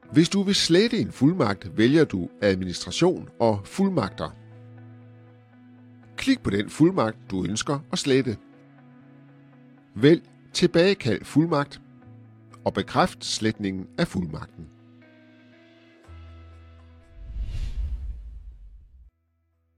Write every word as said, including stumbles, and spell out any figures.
Hvis du vil slette en fuldmagt, vælger du Administration og Fuldmagter. Klik på den fuldmagt, du ønsker at slette. Vælg Tilbagekald fuldmagt og bekræft sletningen af fuldmagten.